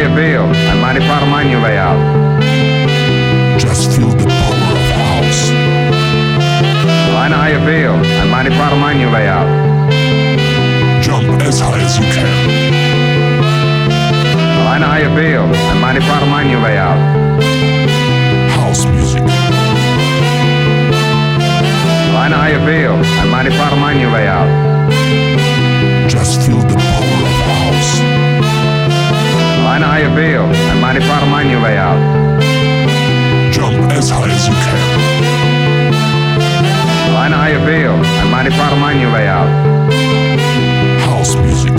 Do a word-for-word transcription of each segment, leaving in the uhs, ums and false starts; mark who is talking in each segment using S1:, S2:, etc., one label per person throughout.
S1: you feel. I'm mighty proud of my new layout.
S2: Just feel the power of house.
S1: Well, I know how you feel. I'm mighty proud of my new layout.
S2: Jump as high as you can.
S1: Well, I know how you feel. I'm mighty proud of my new layout.
S2: House music.
S1: Well, I know how you feel. I'm mighty proud of my new layout.
S2: Just feel the power of house.
S1: Well, I know how you feel. I'm mighty proud of my new layout.
S2: Jump as high as you can.
S1: Well, I know how you feel. I'm mighty proud of my new layout.
S2: House music.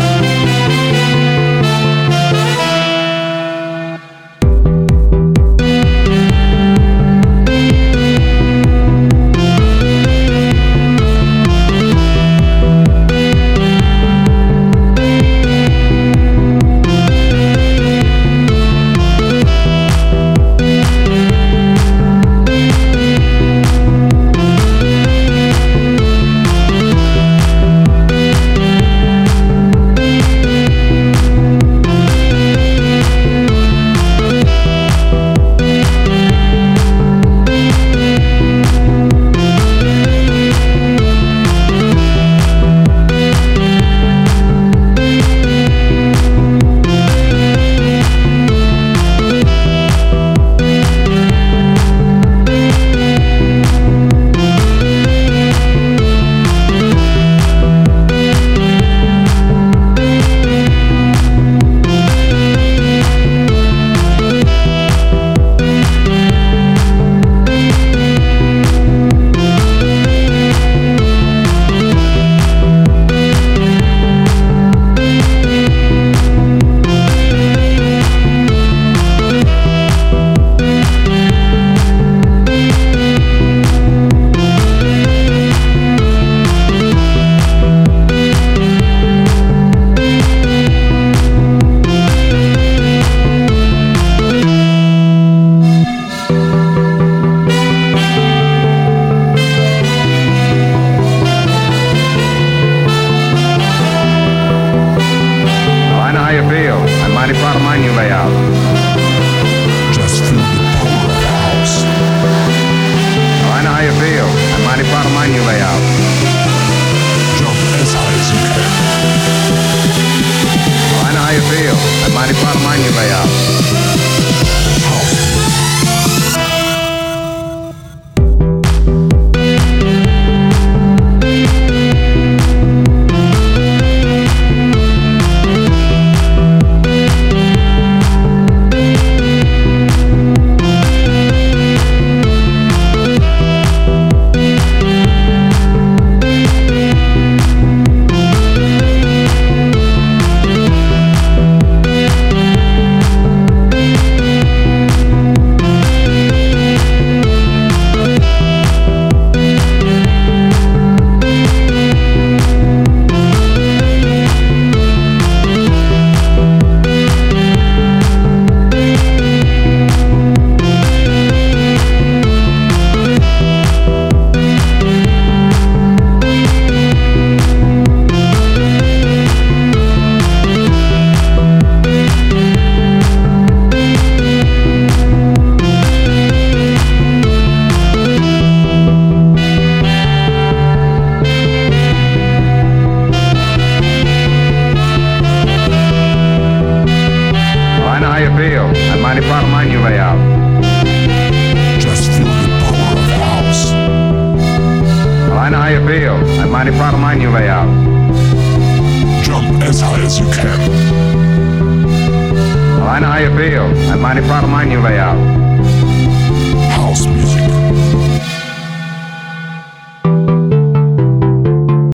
S1: I'm mighty proud of my new layout.
S2: Just feel the power of house.
S1: Well, I know how you feel. I'm mighty proud of my new layout.
S2: Jump as high as you can.
S1: Well, I know how you feel. I'm mighty proud of my new layout.
S2: House music.
S1: I'm mighty proud of my new layout.
S2: Just feel the power of house.
S1: Well, I know how you feel. I'm mighty proud of my new layout.
S2: Jump as high as you can.
S1: Well, I know how you feel. I'm mighty proud of my new layout.